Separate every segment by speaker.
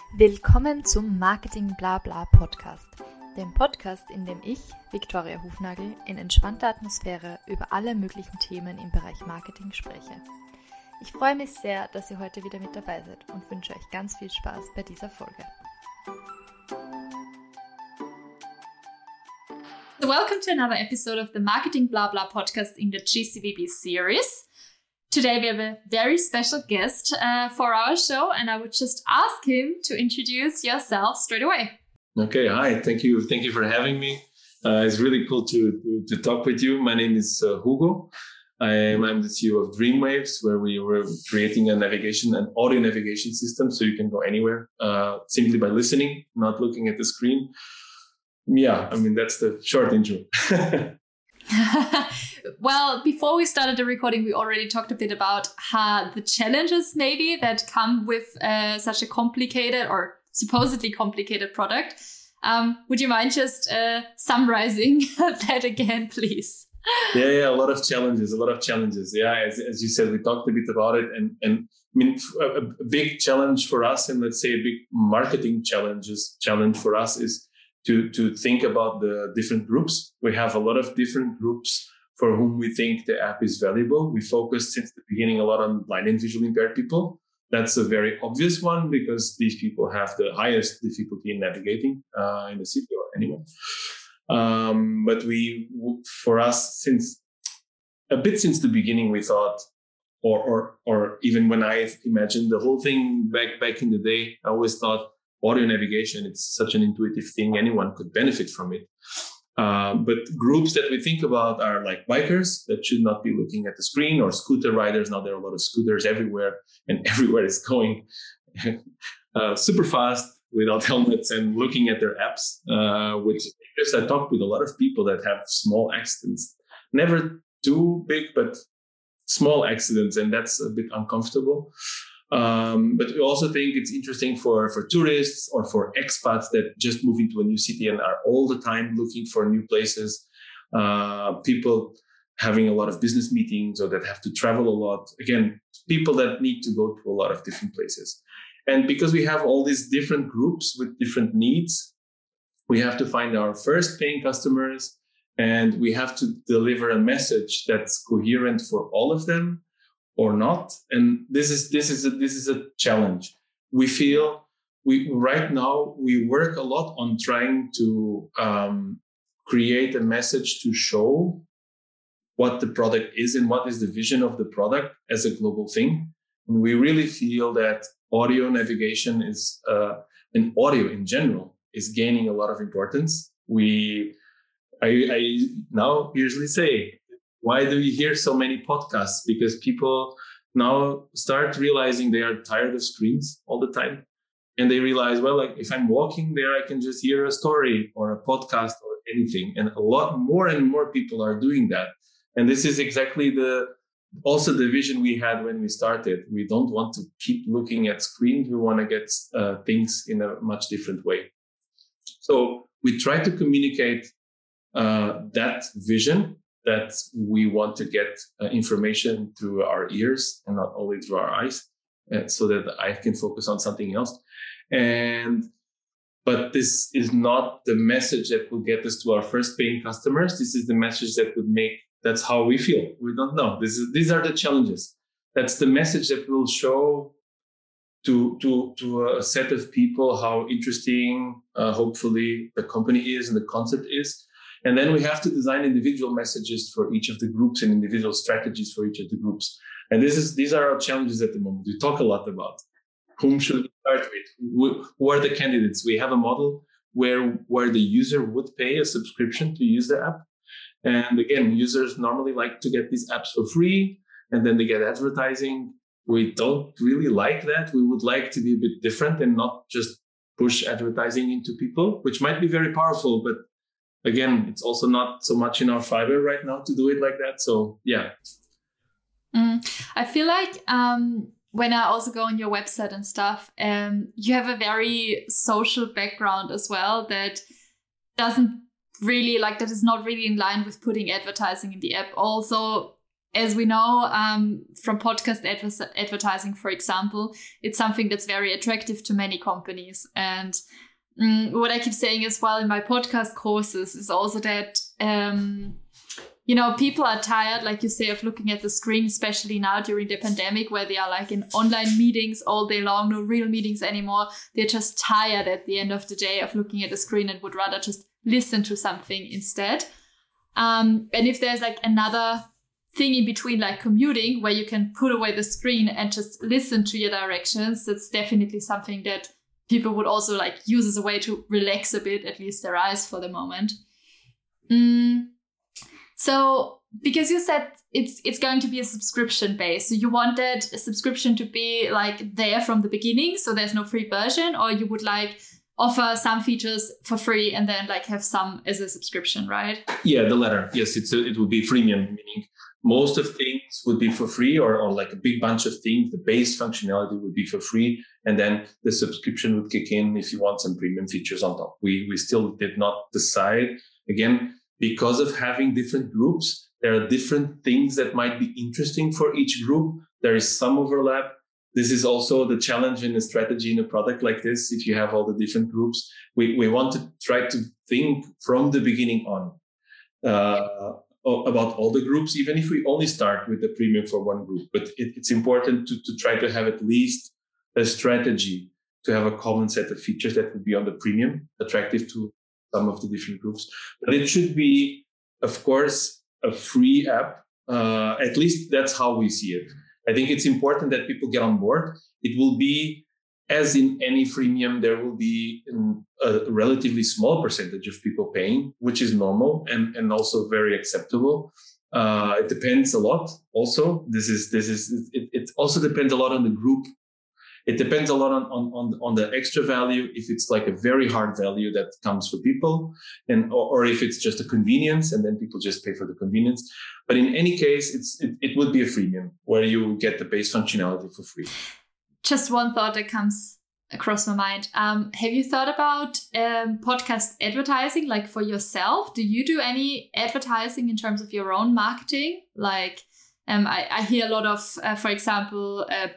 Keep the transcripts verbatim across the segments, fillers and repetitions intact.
Speaker 1: Willkommen zum Marketing Blabla Podcast, dem Podcast, in dem ich, Viktoria Hufnagel, in entspannter Atmosphäre über alle möglichen Themen im Bereich Marketing spreche. Ich freue mich sehr, dass ihr heute wieder mit dabei seid und wünsche euch ganz viel Spaß bei dieser Folge.
Speaker 2: So welcome to another episode of the Marketing Blabla podcast in the G C V B series. Today we have a very special guest uh, for our show, and I would just ask him to introduce yourself straight away.
Speaker 3: Okay, hi, thank you, thank you for having me. Uh, it's really cool to, to to talk with you. My name is uh, Hugo. I am I'm the C E O of Dreamwaves, where we were creating a navigation, an audio navigation system, so you can go anywhere uh, simply by listening, not looking at the screen. Yeah, I mean that's the short intro.
Speaker 2: Well, before we started the recording, we already talked a bit about how the challenges maybe that come with uh, such a complicated or supposedly complicated product. Um, would you mind just uh, summarizing that again, please?
Speaker 3: Yeah, yeah, a lot of challenges, a lot of challenges. Yeah, as, as you said, we talked a bit about it. And, and I mean, a, a big challenge for us, and let's say a big marketing challenges challenge for us is to, to think about the different groups. We have a lot of different groups for whom we think the app is valuable. We focused since the beginning a lot on blind and visually impaired people. That's a very obvious one because these people have the highest difficulty in navigating uh, in the city or anywhere. Um, but we, for us, since a bit since the beginning, we thought, or or or even when I imagined the whole thing back back in the day, I always thought audio navigation, it's such an intuitive thing, anyone could benefit from it. Uh, but groups that we think about are like bikers that should not be looking at the screen, or scooter riders. Now there are a lot of scooters everywhere, and everywhere is going uh, super fast without helmets and looking at their apps, uh, which because I talked with a lot of people that have small accidents, never too big, but small accidents, and that's a bit uncomfortable. Um, but we also think it's interesting for, for tourists or for expats that just move into a new city and are all the time looking for new places. Uh, people having a lot of business meetings or that have to travel a lot. Again, people that need to go to a lot of different places. And because we have all these different groups with different needs, we have to find our first paying customers, and we have to deliver a message that's coherent for all of them, or not. And this is this is a, this is a challenge. We feel we right now we work a lot on trying to um, create a message to show what the product is and what is the vision of the product as a global thing. And we really feel that audio navigation is uh, and audio in general is gaining a lot of importance. We I, I now usually say, why do you hear so many podcasts? Because people now start realizing they are tired of screens all the time. And they realize, well, like if I'm walking there, I can just hear a story or a podcast or anything. And a lot more and more people are doing that. And this is exactly the also the vision we had when we started. We don't want to keep looking at screens. We want to get uh, things in a much different way. So we try to communicate uh, that vision, that we want to get uh, information through our ears and not only through our eyes, uh, so that I can focus on something else. And but this is not the message that will get us to our first paying customers. This is the message that would make, that's how we feel. We don't know. This is these are the challenges. That's the message that will show to to to a set of people how interesting, uh, hopefully, the company is and the concept is. And then we have to design individual messages for each of the groups and individual strategies for each of the groups. And this is these are our challenges at the moment. We talk a lot about whom should we start with, who are the candidates. We have a model where where the user would pay a subscription to use the app. And again, users normally like to get these apps for free, and then they get advertising. We don't really like that. We would like to be a bit different and not just push advertising into people, which might be very powerful, but again, it's also not so much in our fiber right now to do it like that. So, yeah.
Speaker 2: Mm, I feel like um, when I also go on your website and stuff, um, you have a very social background as well that doesn't really, like, that is not really in line with putting advertising in the app. Also, as we know um, from podcast adver- advertising, for example, it's something that's very attractive to many companies. And um, what I keep saying as well in my podcast courses is also that, um, you know, people are tired, like you say, of looking at the screen, especially now during the pandemic, where they are like in online meetings all day long, no real meetings anymore. They're just tired at the end of the day of looking at the screen and would rather just listen to something instead. Um, and if there's like another thing in between, like commuting, where you can put away the screen and just listen to your directions, that's definitely something that people would also like use as a way to relax a bit, at least their eyes for the moment. Mm. So, because you said it's it's going to be a subscription base, so you wanted a subscription to be like there from the beginning, so there's no free version, or you would like offer some features for free and then like have some as a subscription, right?
Speaker 3: Yeah, the latter. Yes, it's a, it would be freemium, meaning most of things would be for free, or, or like a big bunch of things. The base functionality would be for free, and then the subscription would kick in if you want some premium features on top. We we still did not decide. Again, because of having different groups, there are different things that might be interesting for each group. There is some overlap. This is also the challenge in a strategy in a product like this. If you have all the different groups, we, we want to try to think from the beginning on uh, about all the groups, even if we only start with the premium for one group. But it, it's important to, to try to have at least a strategy to have a common set of features that would be on the premium, attractive to some of the different groups. But it should be, of course, a free app. Uh, at least that's how we see it. I think it's important that people get on board. It will be, as in any freemium, there will be a relatively small percentage of people paying, which is normal and, and also very acceptable. Uh, it depends a lot. Also, this is this is it, it also depends a lot on the group. It depends a lot on, on, on, on the extra value, if it's like a very hard value that comes for people, and or, or if it's just a convenience and then people just pay for the convenience. But in any case, it's it, it would be a freemium where you get the base functionality for free.
Speaker 2: Just one thought that comes across my mind. Um, have you thought about um, podcast advertising, like for yourself? Do you do any advertising in terms of your own marketing? Like um, I, I hear a lot of, uh, for example, uh,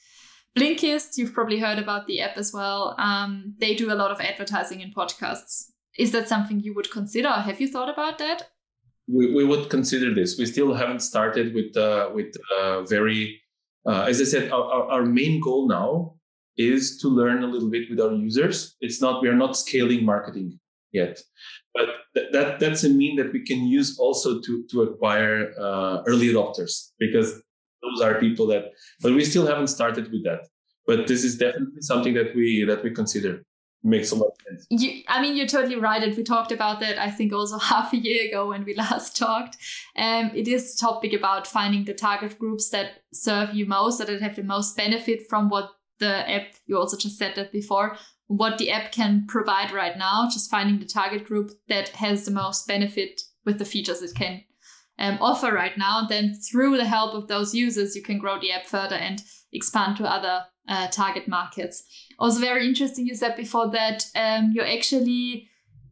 Speaker 2: Blinkist, you've probably heard about the app as well. Um, they do a lot of advertising in podcasts. Is that something you would consider? Have you thought about that?
Speaker 3: We, we would consider this. We still haven't started with uh, with uh, very, uh, as I said, our, our, our main goal now is to learn a little bit with our users. It's not, we are not scaling marketing yet, but th- that that's a mean that we can use also to, to acquire uh, early adopters, because those are people that, but we still haven't started with that. But this is definitely something that we that we consider. Makes a lot of sense.
Speaker 2: You, I mean, you're totally right. And we talked about that, I think, also half a year ago when we last talked. Um, it is a topic about finding the target groups that serve you most, that have the most benefit from what the app, you also just said that before, what the app can provide right now, just finding the target group that has the most benefit with the features it can Um, offer right now. And then through the help of those users, you can grow the app further and expand to other uh, target markets. Also very interesting, you said before that um, you're actually,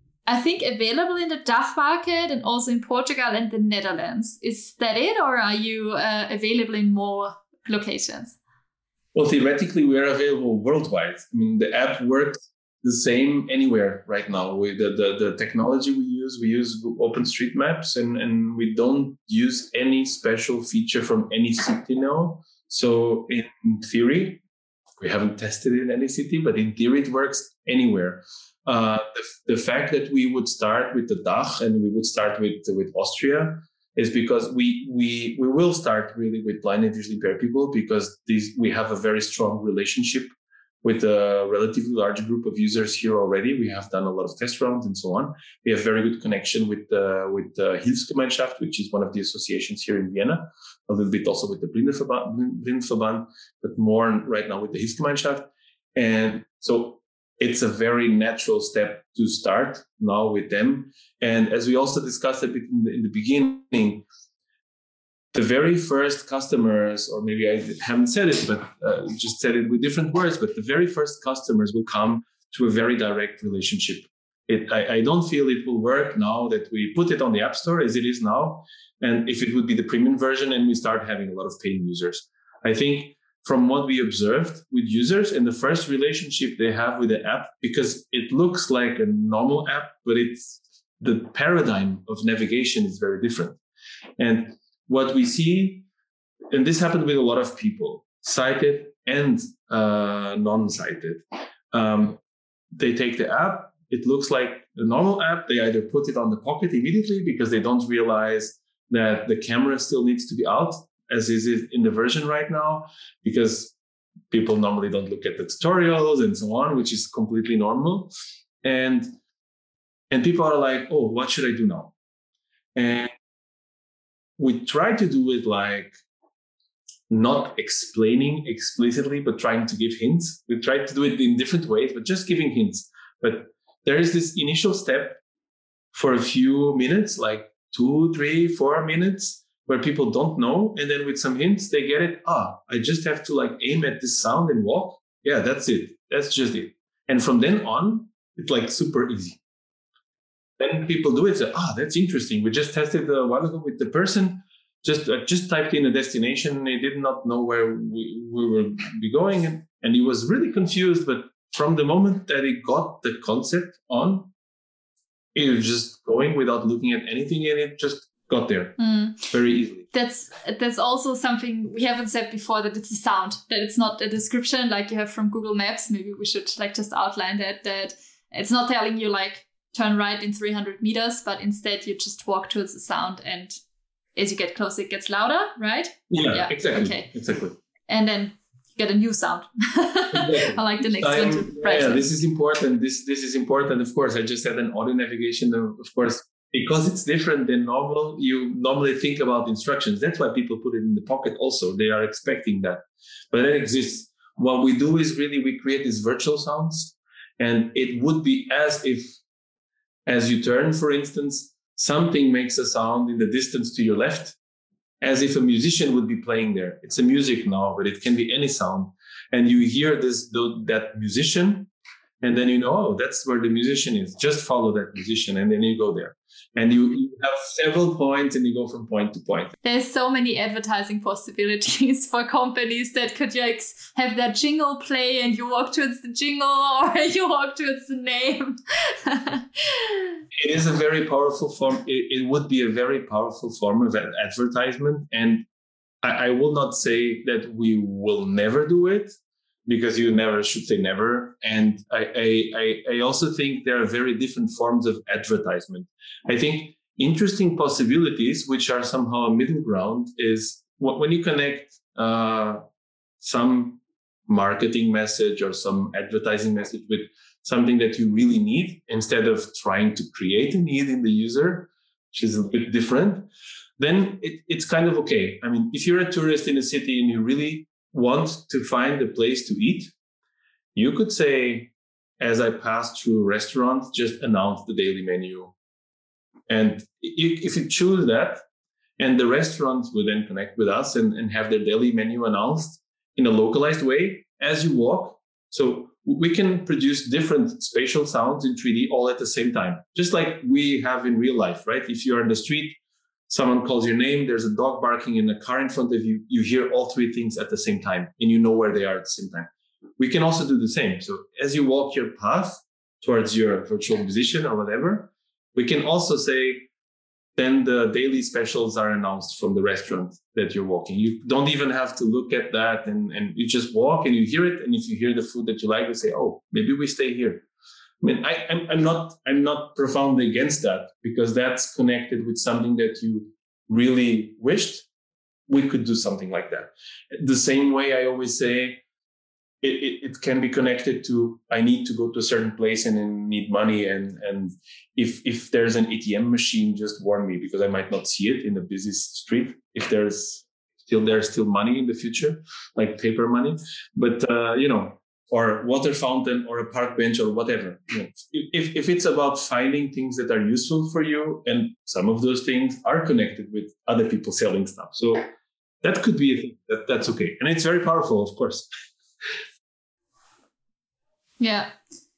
Speaker 2: I think, available in the D A C H market and also in Portugal and the Netherlands. Is that it, or are you uh, available in more locations?
Speaker 3: Well, theoretically, we are available worldwide. I mean, the app works the same anywhere right now. We, the, the, the technology we use, we use OpenStreetMaps, and, and we don't use any special feature from any city now. So in theory, we haven't tested it in any city, but in theory, it works anywhere. Uh, the, the fact that we would start with the D A C H and we would start with, with Austria is because we we we will start really with blind and visually impaired people, because these we have a very strong relationship with a relatively large group of users here already. We have done a lot of test rounds and so on. We have very good connection with uh, with the Hilfsgemeinschaft, which is one of the associations here in Vienna, a little bit also with the Blindenverband, Blindenverband, but more right now with the Hilfsgemeinschaft. And so it's a very natural step to start now with them. And as we also discussed a bit in the, in the beginning, the very first customers, or maybe I haven't said it, but uh, just said it with different words, but the very first customers will come to a very direct relationship. It, I, I don't feel it will work now that we put it on the App Store as it is now. And if it would be the premium version and we start having a lot of paying users. I think from what we observed with users and the first relationship they have with the app, because it looks like a normal app, but it's the paradigm of navigation is very different. And what we see, and this happened with a lot of people, sighted and uh, non-sighted, um, they take the app. It looks like a normal app. They either put it on the pocket immediately because they don't realize that the camera still needs to be out, as is it in the version right now, because people normally don't look at the tutorials and so on, which is completely normal. And and people are like, oh, what should I do now? And we try to do it like not explaining explicitly, but trying to give hints. We try to do it in different ways, but just giving hints. But there is this initial step for a few minutes, like two, three, four minutes, where people don't know. And then with some hints, they get it. Ah, I just have to like aim at this sound and walk. Yeah, that's it. That's just it. And from then on, it's like super easy. Then people do it. Say, ah, that's interesting. We just tested a while ago with the person. Just uh, just typed in a destination. They did not know where we, we were be going. And, and he was really confused. But from the moment that he got the concept on, he was just going without looking at anything. And it just got there mm. very easily.
Speaker 2: That's that's also something we haven't said before, that it's a sound, that it's not a description like you have from Google Maps. Maybe we should like just outline that, that it's not telling you like turn right in three hundred meters, but instead you just walk towards the sound, and as you get closer, it gets louder, right?
Speaker 3: Yeah, yeah. exactly. Okay. Exactly.
Speaker 2: And then you get a new sound. Exactly. I like the next
Speaker 3: Time,
Speaker 2: one to
Speaker 3: yeah, yeah, this is important. This this is important. Of course, I just had an audio navigation. Of course, because it's different than normal, you normally think about instructions. That's why people put it in the pocket also. They are expecting that. But that exists. What we do is really we create these virtual sounds. And it would be as if, as you turn, for instance, something makes a sound in the distance to your left, as if a musician would be playing there. It's a music now, but it can be any sound. And you hear this that musician, and then you know, oh, that's where the musician is. Just follow that musician, and then you go there. And you, you have several points, and you go from point to point.
Speaker 2: There's so many advertising possibilities for companies that could like have that jingle play, and you walk towards the jingle, or you walk towards the name.
Speaker 3: It is a very powerful form. It, it would be a very powerful form of advertisement. And I, I will not say that we will never do it, because you never should say never. And I, I, I also think there are very different forms of advertisement. I think interesting possibilities, which are somehow a middle ground, is when you connect uh, some marketing message or some advertising message with something that you really need, instead of trying to create a need in the user, which is a bit different, then it, it's kind of okay. I mean, if you're a tourist in a city and you really want to find a place to eat, you could say, as I pass through restaurants, just announce the daily menu. And if you choose that, and the restaurants will then connect with us and, and have their daily menu announced in a localized way as you walk. So we can produce different spatial sounds in three D all at the same time, just like we have in real life, right? If you're on the street, someone calls your name, there's a dog barking in a car in front of you, you hear all three things at the same time, and you know where they are at the same time. We can also do the same. So as you walk your path towards your virtual musician or whatever, we can also say, then the daily specials are announced from the restaurant that you're walking. You don't even have to look at that, and, and you just walk and you hear it. And if you hear the food that you like, you say, oh, maybe we stay here. I mean, I, I'm, I'm not I'm not profoundly against that, because that's connected with something that you really wished. We could do something like that. The same way I always say, it, it, it can be connected to, I need to go to a certain place and I need money. And, and if if there's an A T M machine, just warn me, because I might not see it in a busy street. If there's still there's still money in the future, like paper money. But, uh, you know, or water fountain or a park bench or whatever. You know, if, if it's about finding things that are useful for you, and some of those things are connected with other people selling stuff. So that could be a thing. That, that's okay. And it's very powerful, of course.
Speaker 2: Yeah.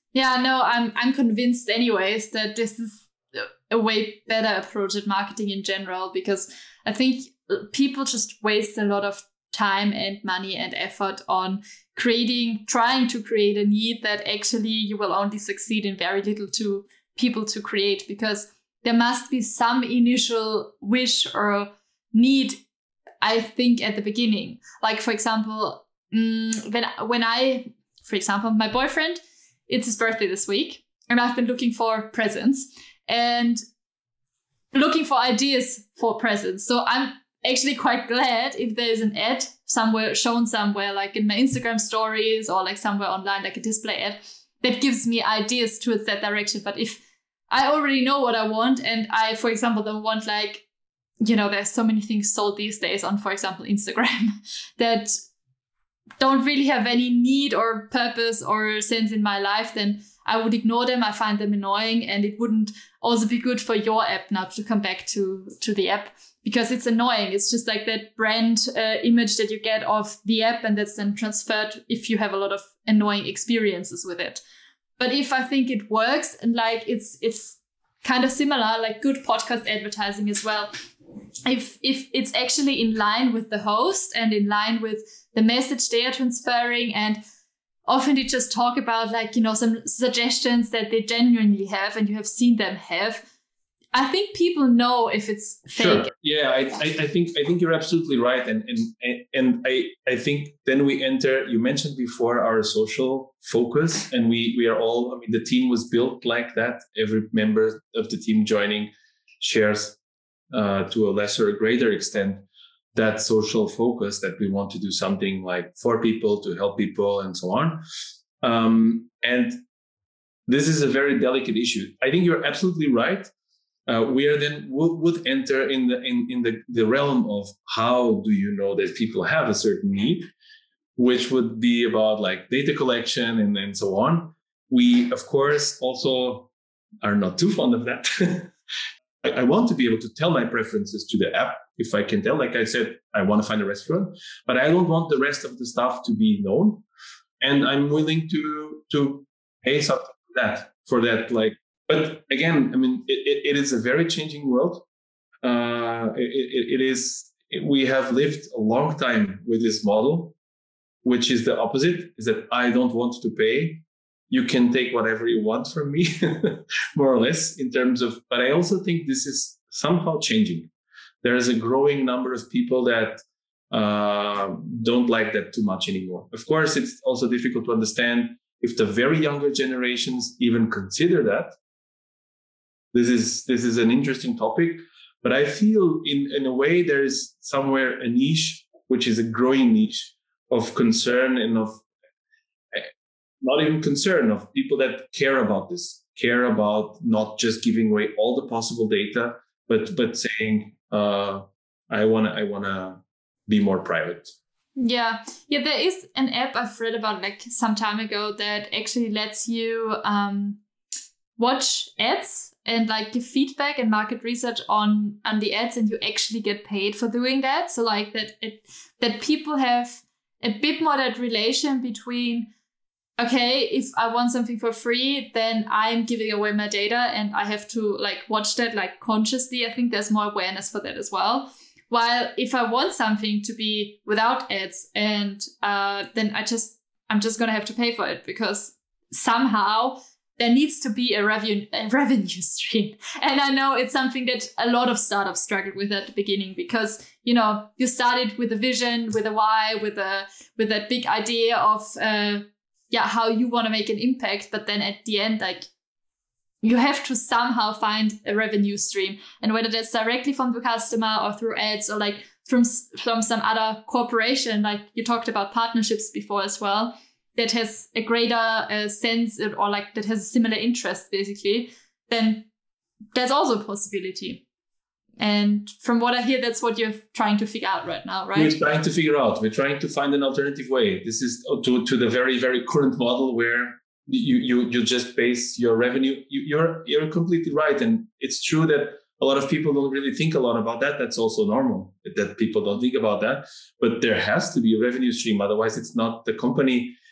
Speaker 2: Yeah, no, I'm I'm convinced anyways that this is a way better approach at marketing in general, because I think people just waste a lot of time and money and effort on creating, trying to create a need that actually you will only succeed in very little to people to create, because there must be some initial wish or need, I think, at the beginning. Like, for example, mm, when when I, for example, my boyfriend, it's his birthday this week, and I've been looking for presents and looking for ideas for presents. So I'm actually quite glad if there's an ad somewhere shown somewhere, like in my Instagram stories or like somewhere online, like a display ad that gives me ideas towards that direction. But if I already know what I want, and I, for example, don't want, like, you know, there's so many things sold these days on, for example, Instagram that don't really have any need or purpose or sense in my life, then I would ignore them. I find them annoying, and it wouldn't also be good for your app now to come back to, to the app, because it's annoying. It's just like that brand uh, image that you get of the app, and that's then transferred if you have a lot of annoying experiences with it. But if I think it works, and like it's it's kind of similar, like good podcast advertising as well. If if it's actually in line with the host and in line with the message they are transferring, and often they just talk about, like, you know, some suggestions that they genuinely have and you have seen them have, I think people know if it's fake.
Speaker 3: Sure. Yeah, I, I, I think I think you're absolutely right, and and and I I think then we enter. You mentioned before our social focus, and we we are all. I mean, the team was built like that. Every member of the team joining shares uh, to a lesser or greater extent that social focus, that we want to do something like for people, to help people, and so on. Um, and this is a very delicate issue. I think you're absolutely right. Uh, we are then would, would enter in the in, in the, the realm of how do you know that people have a certain need, which would be about like data collection and, and so on. We, of course, also are not too fond of that. I, I want to be able to tell my preferences to the app if I can tell. Like I said, I want to find a restaurant, but I don't want the rest of the stuff to be known. And I'm willing to to pay something for that, for that, like. But again, I mean, it, it, it is a very changing world. Uh, it, it, it is. We have lived a long time with this model, which is the opposite: is that I don't want to pay. You can take whatever you want from me, more or less, in terms of. But I also think this is somehow changing. There is a growing number of people that uh, don't like that too much anymore. Of course, it's also difficult to understand if the very younger generations even consider that. This is this is an interesting topic, but I feel in, in a way there is somewhere a niche, which is a growing niche of concern and of not even concern, of people that care about this, care about not just giving away all the possible data, but but saying, uh, I wanna I wanna be more private.
Speaker 2: Yeah, yeah. There is an app I've read about like some time ago that actually lets you um, watch ads and like give feedback and market research on, on the ads, and you actually get paid for doing that. So like that it, that people have a bit more that relation between, okay, if I want something for free, then I'm giving away my data and I have to like watch that like consciously. I think there's more awareness for that as well. While if I want something to be without ads, and uh, then I just, I'm just going to have to pay for it, because somehow there needs to be a revenue, a revenue stream. And I know it's something that a lot of startups struggled with at the beginning, because, you know, you started with a vision, with a why, with a with that big idea of, uh, yeah, how you want to make an impact. But then at the end, like, you have to somehow find a revenue stream. And whether that's directly from the customer or through ads or like from, from some other corporation, like you talked about partnerships before as well, that has a greater uh, sense, or like that has a similar interest, basically, then that's also a possibility. And from what I hear, that's what you're trying to figure out right now, right?
Speaker 3: We're trying to figure out. We're trying to find an alternative way. This is to, to the very, very current model where you you you just base your revenue. You, you're you're completely right, and it's true that a lot of people don't really think a lot about that. That's also normal that people don't think about that. But there has to be a revenue stream, otherwise, it's not the company.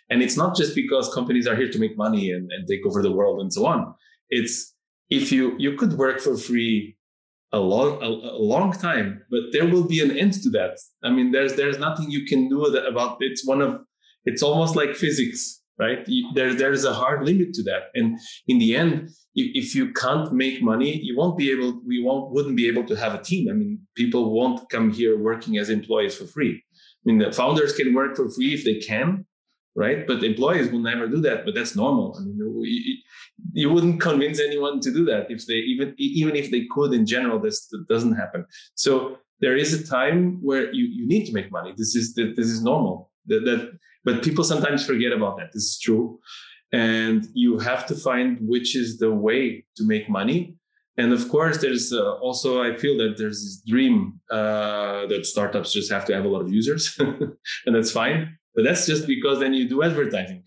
Speaker 3: And it's not just because companies are here to make money and, and take over the world and so on. It's if you you could work for free a long a, a long time, but there will be an end to that. I mean, there's there's nothing you can do about it. It's one of it's almost like physics, right? There there's a hard limit to that, and in the end, if you can't make money, you won't be able. We won't wouldn't be able to have a team. I mean, people won't come here working as employees for free. I mean, the founders can work for free if they can, right? But employees will never do that. But that's normal. I mean, you, you wouldn't convince anyone to do that if they even even if they could. In general, this doesn't happen. So there is a time where you, you need to make money. This is this is normal. That, that but people sometimes forget about that. This is true, and you have to find which is the way to make money. And of course, there's uh, also, I feel that there's this dream uh, that startups just have to have a lot of users, and that's fine. But that's just because then you do advertising.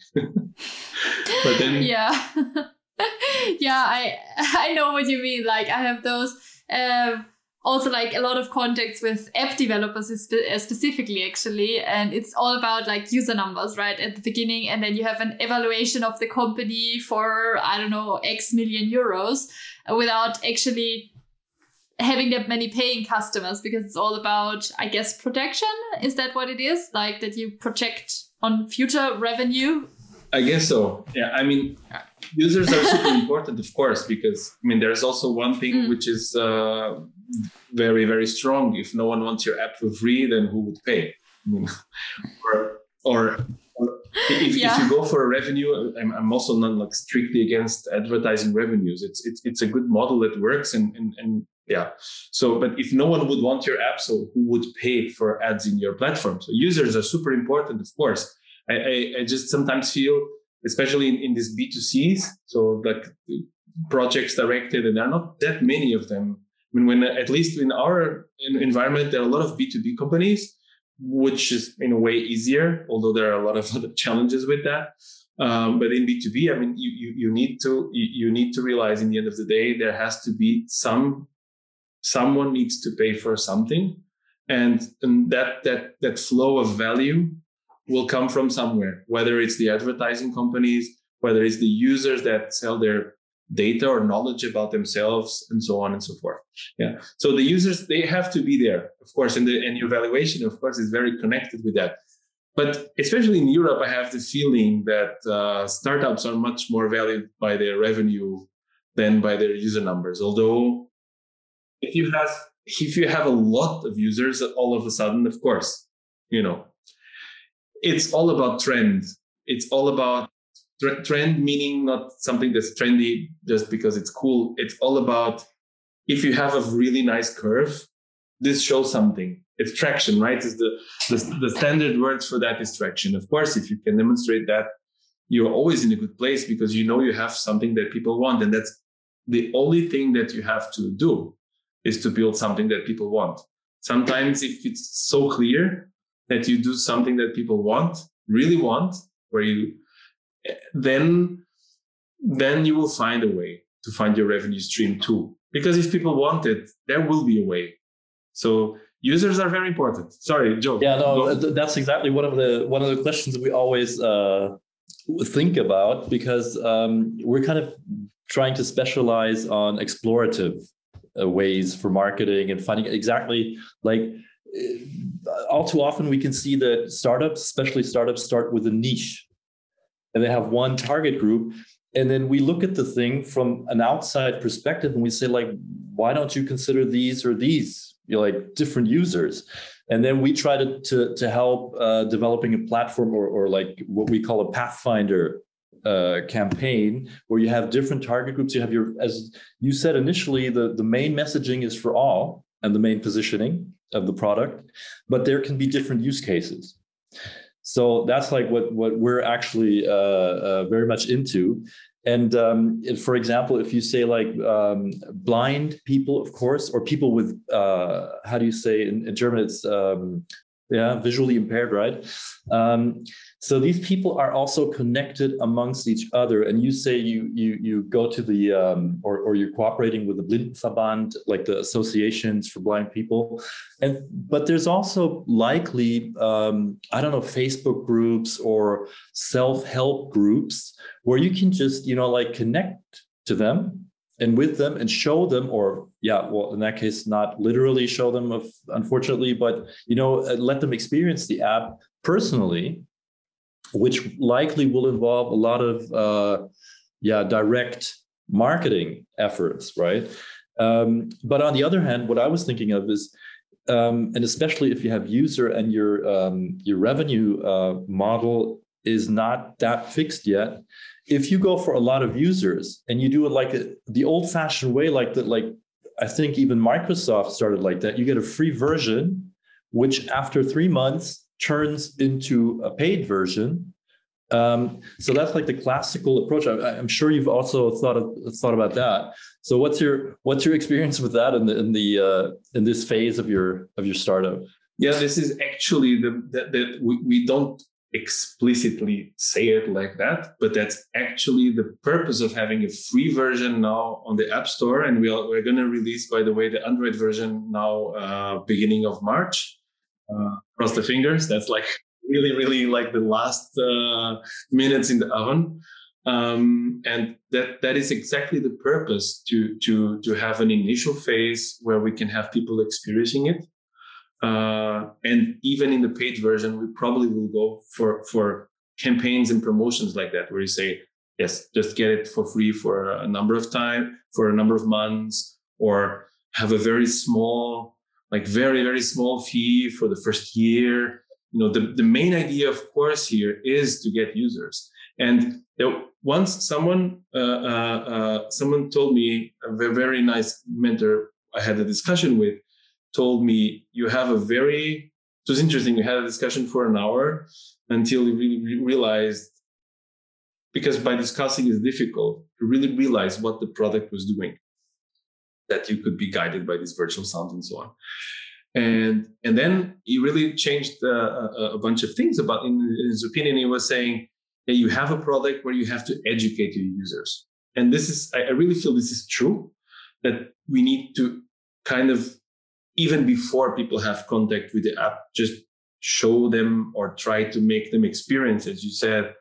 Speaker 3: But then,
Speaker 2: yeah, yeah, I I know what you mean. Like I have those um, also like a lot of contacts with app developers spe- specifically, actually, and it's all about like user numbers, right, at the beginning, and then you have an evaluation of the company for I don't know X million euros without actually having that many paying customers, because it's all about, I guess, protection. Is that what it is? Like that you project on future revenue?
Speaker 3: I guess so. Yeah. I mean, users are super important, of course, because I mean, there's also one thing mm. which is uh, very, very strong. If no one wants your app for free, then who would pay? I mean, or, or, or if, yeah. if you go for a revenue, I'm, I'm also not like strictly against advertising revenues. It's it's it's a good model that works, and and and yeah. So, but if no one would want your app, so who would pay for ads in your platform? So users are super important, of course. I, I, I just sometimes feel, especially in, in these B two Cs, so like projects directed, and there are not that many of them. I mean, when at least in our environment, there are a lot of B two B companies, which is in a way easier, although there are a lot of other challenges with that. Um, but in B two B, I mean, you, you, you need to you, you need to realize in the end of the day, there has to be some someone needs to pay for something, and, and that that that flow of value will come from somewhere, whether it's the advertising companies, whether it's the users that sell their data or knowledge about themselves, and so on and so forth. Yeah. So the users, they have to be there, of course, and the and your valuation, of course, is very connected with that. But especially in Europe, I have the feeling that uh, startups are much more valued by their revenue than by their user numbers. Although if you have if you have a lot of users, all of a sudden, of course, you know, it's all about trend. It's all about tre- trend, meaning not something that's trendy just because it's cool. It's all about if you have a really nice curve, this shows something. It's traction, right? It's the, the, the standard word for that is traction. Of course, if you can demonstrate that, you're always in a good place because you know you have something that people want. And that's the only thing that you have to do is to build something that people want. Sometimes if it's so clear that you do something that people want, really want, where you, then, then you will find a way to find your revenue stream too. Because if people want it, there will be a way. So users are very important. Sorry, Joe.
Speaker 4: Yeah, no, that's exactly one of the one of the questions we always uh, think about, because um, we're kind of trying to specialize on explorative uh, ways for marketing and finding exactly like. All too often we can see that startups, especially startups, start with a niche and they have one target group. And then we look at the thing from an outside perspective and we say, like, why don't you consider these or these, you know, like different users? And then we try to to, to help uh, developing a platform or, or like what we call a Pathfinder uh, campaign, where you have different target groups. You have your, as you said initially, the, the main messaging is for all and the main positioning of the product, but there can be different use cases. So that's like what, what we're actually uh, uh, very much into. And um, if, for example, if you say like um, blind people, of course, or people with, uh, how do you say in, in German, it's um, yeah, visually impaired, right? Um, so these people are also connected amongst each other. And you say you you you go to the um, or or you're cooperating with the Blindenverband, like the associations for blind people, and but there's also likely um, I don't know, Facebook groups or self-help groups where you can just you know like connect to them and with them and show them, or yeah, well, in that case, not literally show them, of, unfortunately, but you know, let them experience the app personally, which likely will involve a lot of uh, yeah direct marketing efforts, right? Um, but on the other hand, what I was thinking of is, um, and especially if you have user and your um, your revenue uh, model is not that fixed yet. If you go for a lot of users and you do it like a, the old-fashioned way, like that, like I think even Microsoft started like that, you get a free version, which after three months turns into a paid version. Um, so that's like the classical approach. I, I'm sure you've also thought of, thought about that. So what's your what's your experience with that in the in the uh, in this phase of your of your startup?
Speaker 3: Yeah, this is actually the that we, we don't explicitly say it like that, but that's actually the purpose of having a free version now on the App Store. And we are, we're going to release, by the way, the Android version now, uh, beginning of March. Uh, cross the fingers. That's like really, really like the last uh, minutes in the oven. Um, and that that is exactly the purpose, to to to have an initial phase where we can have people experiencing it. Uh, and even in the paid version, we probably will go for, for campaigns and promotions like that, where you say, yes, just get it for free for a number of time, for a number of months, or have a very small, like very, very small fee for the first year. You know, the, the main idea, of course, here is to get users. And you know, once someone, uh, uh, uh, someone told me, a very, very nice mentor I had a discussion with, told me, you have a very, it was interesting, we had a discussion for an hour until we really realized, because by discussing is difficult, to really realize what the product was doing, that you could be guided by this virtual sound and so on. And and then he really changed uh, a, a bunch of things about, in, in his opinion, he was saying that you have a product where you have to educate your users. And this is, I, I really feel this is true, that we need to kind of, even before people have contact with the app, just show them or try to make them experience, as you said,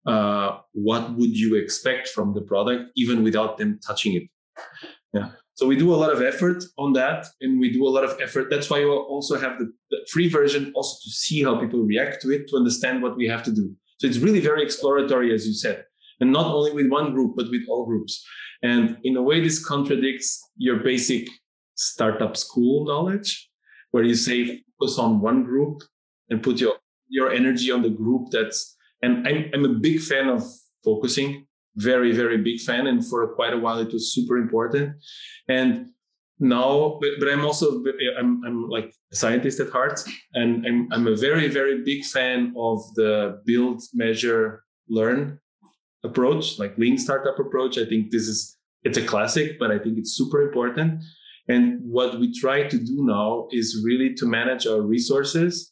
Speaker 3: uh, what would you expect from the product, even without them touching it. Yeah. So we do a lot of effort on that, and we do a lot of effort. That's why you also have the, the free version, also to see how people react to it, to understand what we have to do. So it's really very exploratory, as you said, and not only with one group, but with all groups. And in a way, this contradicts your basic startup school knowledge, where you say focus on one group and put your your energy on the group. That's, and I'm I'm a big fan of focusing, very very big fan, and for quite a while it was super important. And now, but, but I'm also I'm I'm like a scientist at heart, and I'm I'm a very very big fan of the build, measure, learn approach, like lean startup approach. I think this is it's a classic, but I think it's super important. And what we try to do now is really to manage our resources,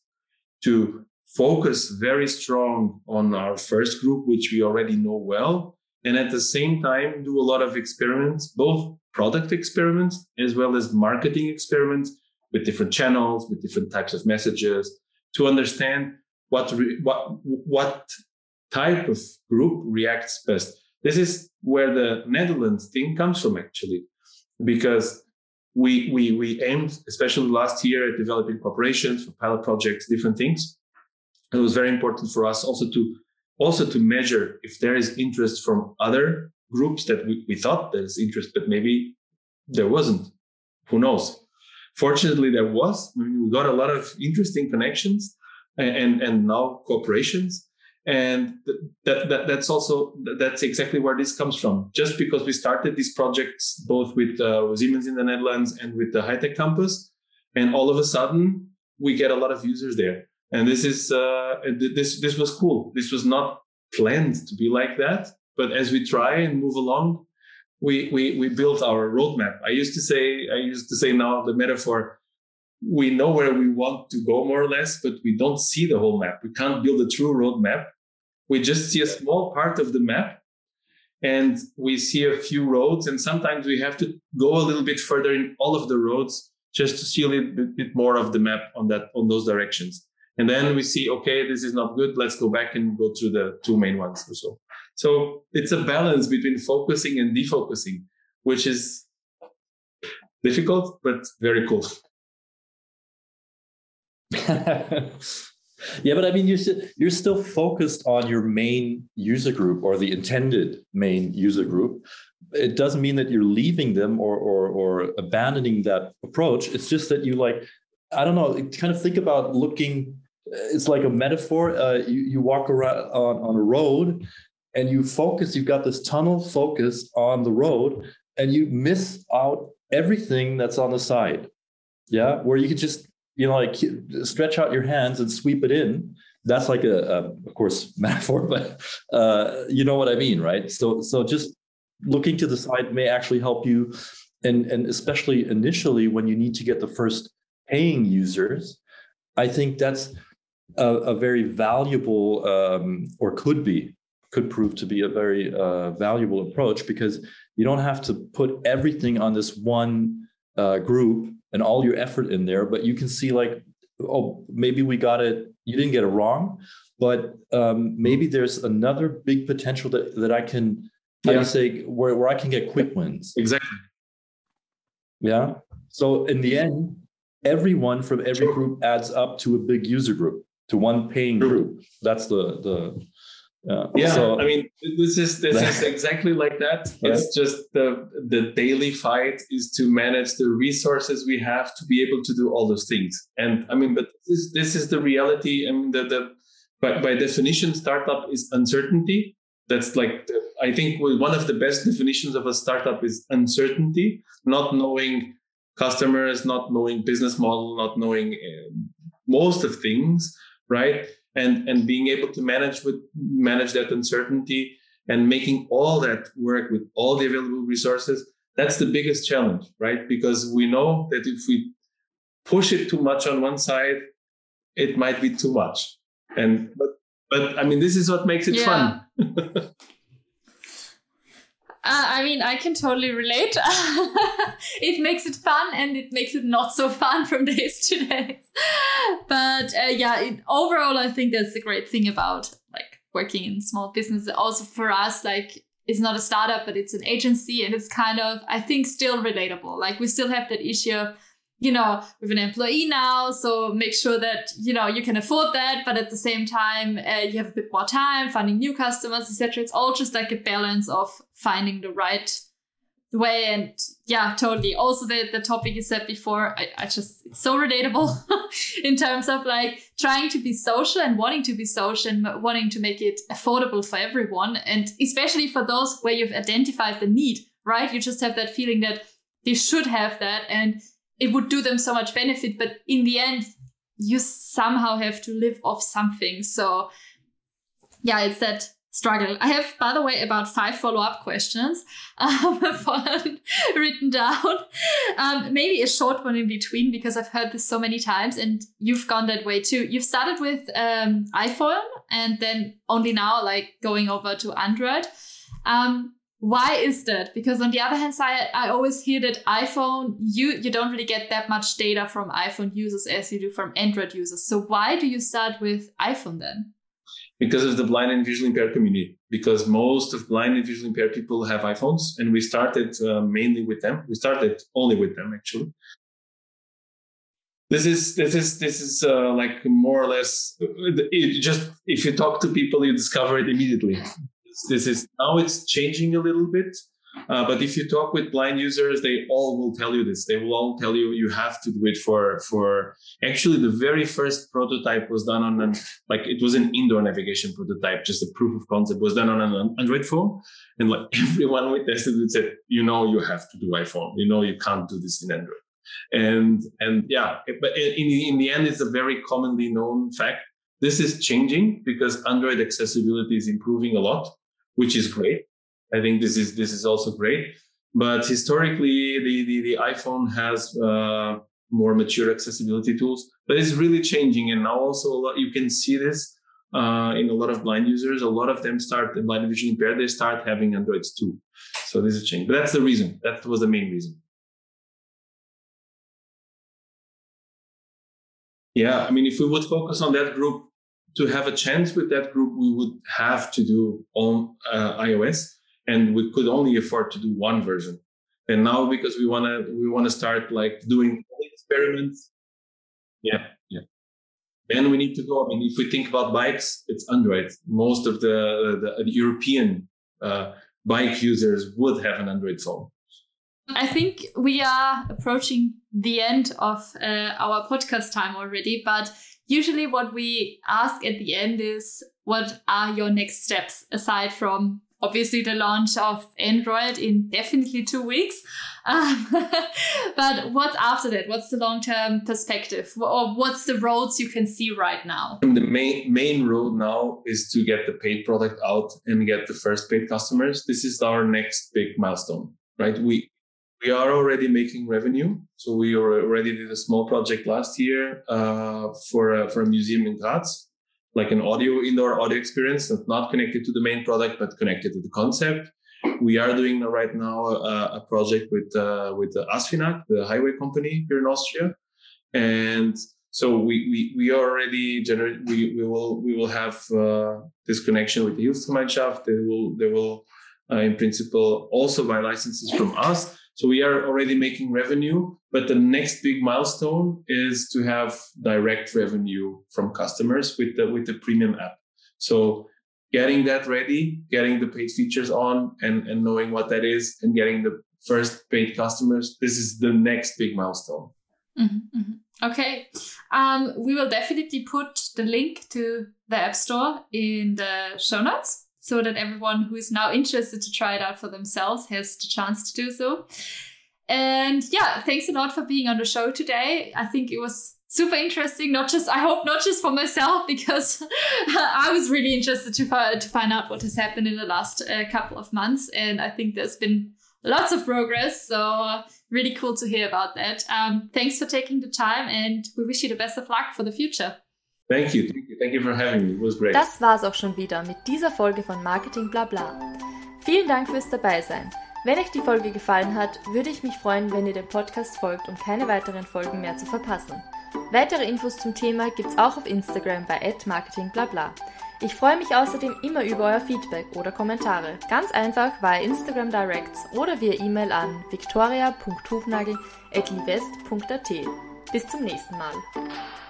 Speaker 3: to focus very strong on our first group, which we already know well, and at the same time do a lot of experiments, both product experiments as well as marketing experiments with different channels, with different types of messages, to understand what re- what what type of group reacts best. This is where the Netherlands thing comes from, actually, because We we we aimed, especially last year, at developing cooperations for pilot projects, different things. And it was very important for us also to also to measure if there is interest from other groups that we, we thought there's interest, but maybe there wasn't. Who knows? Fortunately, there was. I mean, we got a lot of interesting connections and and, and now cooperations. And that, that that's also that's exactly where this comes from. Just because we started these projects both with uh, Siemens in the Netherlands and with the High Tech Campus, and all of a sudden we get a lot of users there. And this is uh, this this was cool. This was not planned to be like that, but as we try and move along, we we we built our roadmap. I used to say I used to say now the metaphor. we know where we want to go more or less, but we don't see the whole map. We can't build a true roadmap. We just see a small part of the map, and we see a few roads. And sometimes we have to go a little bit further in all of the roads just to see a little bit, bit more of the map on that on those directions. And then we see, okay, this is not good. Let's go back and go through the two main ones or so. So it's a balance between focusing and defocusing, which is difficult, but very cool.
Speaker 4: Yeah, but I mean, you're still, you're still focused on your main user group or the intended main user group. It doesn't mean that you're leaving them or or, or abandoning that approach. It's just that you like, I don't know, kind of think about looking. It's like a metaphor. Uh, you you walk around on, on a road, and you focus. You've got this tunnel focus on the road, and you miss out everything that's on the side. Yeah, where you could just, you know, like stretch out your hands and sweep it in. That's like a, a of course, metaphor, but uh, you know what I mean, right? So, so just looking to the side may actually help you, and and especially initially when you need to get the first paying users. I think that's a, a very valuable, um, or could be, could prove to be a very uh, valuable approach, because you don't have to put everything on this one uh, group and all your effort in there, but you can see like, oh, maybe we got it, you didn't get it wrong, but um, maybe there's another big potential that, that I can, how do you say, where, where I can get quick wins.
Speaker 3: Exactly.
Speaker 4: Yeah. So in the end, everyone from every group adds up to a big user group, to one paying group. That's the, the, Uh,
Speaker 3: yeah,
Speaker 4: so,
Speaker 3: I mean, this is this is exactly like that. It's
Speaker 4: right.
Speaker 3: just the the daily fight is to manage the resources we have to be able to do all those things. And I mean, but this is, this is the reality. I mean, the, the by, by definition, startup is uncertainty. That's like the, I think one of the best definitions of a startup is uncertainty, not knowing customers, not knowing business model, not knowing uh, most of things, right? And and being able to manage with manage that uncertainty and making all that work with all the available resources, that's the biggest challenge, right? Because we know that if we push it too much on one side, it might be too much. And but but I mean, this is what makes it
Speaker 2: yeah.
Speaker 3: fun.
Speaker 2: Uh, I mean, I can totally relate. It makes it fun and it makes it not so fun from days to days. But uh, yeah, it, overall, I think that's the great thing about like working in small business. Also for us, like it's not a startup, but it's an agency, and it's kind of, I think, still relatable. Like we still have that issue of, you know, with an employee now, so make sure that, you know, you can afford that, but at the same time, uh, you have a bit more time finding new customers, et cetera. It's all just like a balance of finding the right way. And yeah, totally. Also, the, the topic you said before, I, I just, it's so relatable in terms of like trying to be social and wanting to be social and wanting to make it affordable for everyone. And especially for those where you've identified the need, right? You just have that feeling that they should have that, and it would do them so much benefit, but in the end, you somehow have to live off something. So yeah, it's that struggle. I have, by the way, about five follow-up questions um, written down. Um, maybe a short one in between, because I've heard this so many times and you've gone that way too. You've started with um, iPhone and then only now like going over to Android. Um, Why is that? Because on the other hand side, I always hear that iPhone, you, you don't really get that much data from iPhone users as you do from Android users. So why do you start with iPhone then?
Speaker 3: Because of the blind and visually impaired community. Because most of blind and visually impaired people have iPhones, and we started uh, mainly with them. We started only with them, actually. This is this is this is uh, like more or less. It just if you talk to people, you discover it immediately. This is now it's changing a little bit, uh, but if you talk with blind users, they all will tell you this. They will all tell you you have to do it for for. Actually, the very first prototype was done on an like it was an indoor navigation prototype, just a proof of concept was done on an Android phone, and like everyone we tested it said, you know, you have to do iPhone. You know, you can't do this in Android, and and yeah, but in in the end, it's a very commonly known fact. This is changing because Android accessibility is improving a lot, which is great. I think this is this is also great. But historically, the the, the iPhone has uh, more mature accessibility tools. But it's really changing. And now also a lot, you can see this uh, in a lot of blind users. A lot of them start, blind and visually impaired, they start having Androids too. So this is changing. But that's the reason. That was the main reason. Yeah, I mean, if we would focus on that group, to have a chance with that group, we would have to do on uh, iOS, and we could only afford to do one version. And now, because we wanna we wanna start like doing experiments, yeah, yeah. Then we need to go. I mean, if we think about bikes, it's Android. Most of the the, the European uh, bike users would have an Android phone.
Speaker 2: I think we are approaching the end of uh, our podcast time already, but usually what we ask at the end is, what are your next steps aside from obviously the launch of Android in definitely two weeks? Um, but what's after that? What's the long-term perspective? Or what's the roads you can see right now?
Speaker 3: The main main road now is to get the paid product out and get the first paid customers. This is our next big milestone, right? We We are already making revenue. So we already did a small project last year uh, for, a, for a museum in Graz, like an audio, indoor audio experience that's not connected to the main product, but connected to the concept. We are doing right now a, a project with uh, with the ASFINAG, the highway company here in Austria. And so we we, we already generate, we, we will we will have uh, this connection with the Hilfsgemeinschaft. They will, they will uh, in principle, also buy licenses from us. So we are already making revenue, but the next big milestone is to have direct revenue from customers with the with the premium app. So getting that ready, getting the paid features on, and, and knowing what that is, and getting the first paid customers, this is the next big milestone.
Speaker 2: Mm-hmm, mm-hmm. Okay. Um, we will definitely put the link to the App Store in the show notes, so that everyone who is now interested to try it out for themselves has the chance to do so. And yeah, thanks a lot for being on the show today. I think it was super interesting, not just, I hope not just for myself, because I was really interested to, to find out what has happened in the last uh, couple of months. And I think there's been lots of progress. So really cool to hear about that. Um, thanks for taking the time, and we wish you the best of luck for the future.
Speaker 3: Thank you. Thank you. Thank you for having me. It was great.
Speaker 1: Das war's auch schon wieder mit dieser Folge von Marketing Blabla. Vielen Dank fürs Dabeisein. Wenn euch die Folge gefallen hat, würde ich mich freuen, wenn ihr dem Podcast folgt, um keine weiteren Folgen mehr zu verpassen. Weitere Infos zum Thema gibt's auch auf Instagram bei at marketing blabla. Ich freue mich außerdem immer über euer Feedback oder Kommentare. Ganz einfach via Instagram Directs oder via E-Mail an viktoria punkt hufnagel at livest punkt at. Bis zum nächsten Mal.